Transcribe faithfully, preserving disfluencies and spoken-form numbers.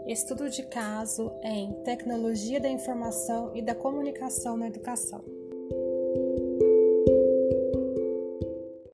Estudo de caso em Tecnologia da Informação e da Comunicação na Educação.